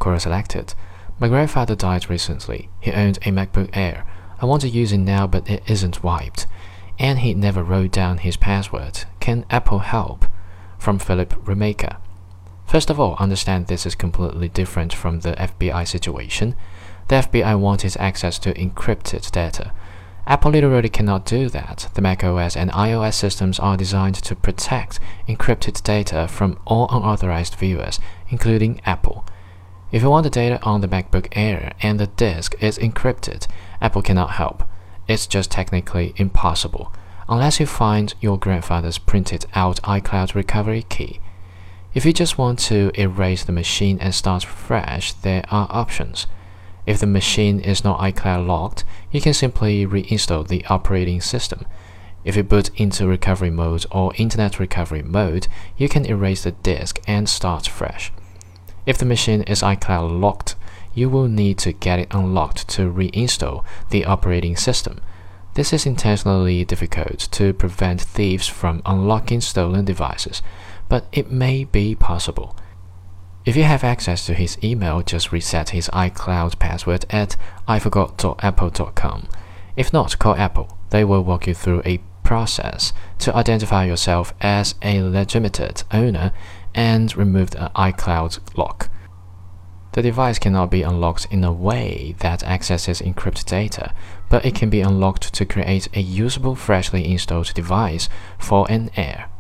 Quora selected. My grandfather died recently. He owned a MacBook Air. I want to use it now, but it isn't wiped. And he never wrote down his password. Can Apple help? From Philip Remaker. First of all, understand this is completely different from the FBI situation. The FBI wanted access to encrypted data. Apple literally cannot do that. The macOS and iOS systems are designed to protect encrypted data from all unauthorized viewers, including Apple. If you want the data on the MacBook Air and the disk is encrypted, Apple cannot help. It's just technically impossible, unless you find your grandfather's printed out iCloud recovery key. If you just want to erase the machine and start fresh, there are options. If the machine is not iCloud locked, you can simply reinstall the operating system. If you boot into recovery mode or internet recovery mode, you can erase the disk and start fresh. If the machine is iCloud locked, you will need to get it unlocked to reinstall the operating system. This is intentionally difficult to prevent thieves from unlocking stolen devices, but it may be possible. If you have access to his email, just reset his iCloud password at iforgot.apple.com. If not, call Apple. They will walk you through a process to identify yourself as a legitimate owner and remove the iCloud lock. The device cannot be unlocked in a way that accesses encrypted data, but it can be unlocked to create a usable freshly installed device for an Air.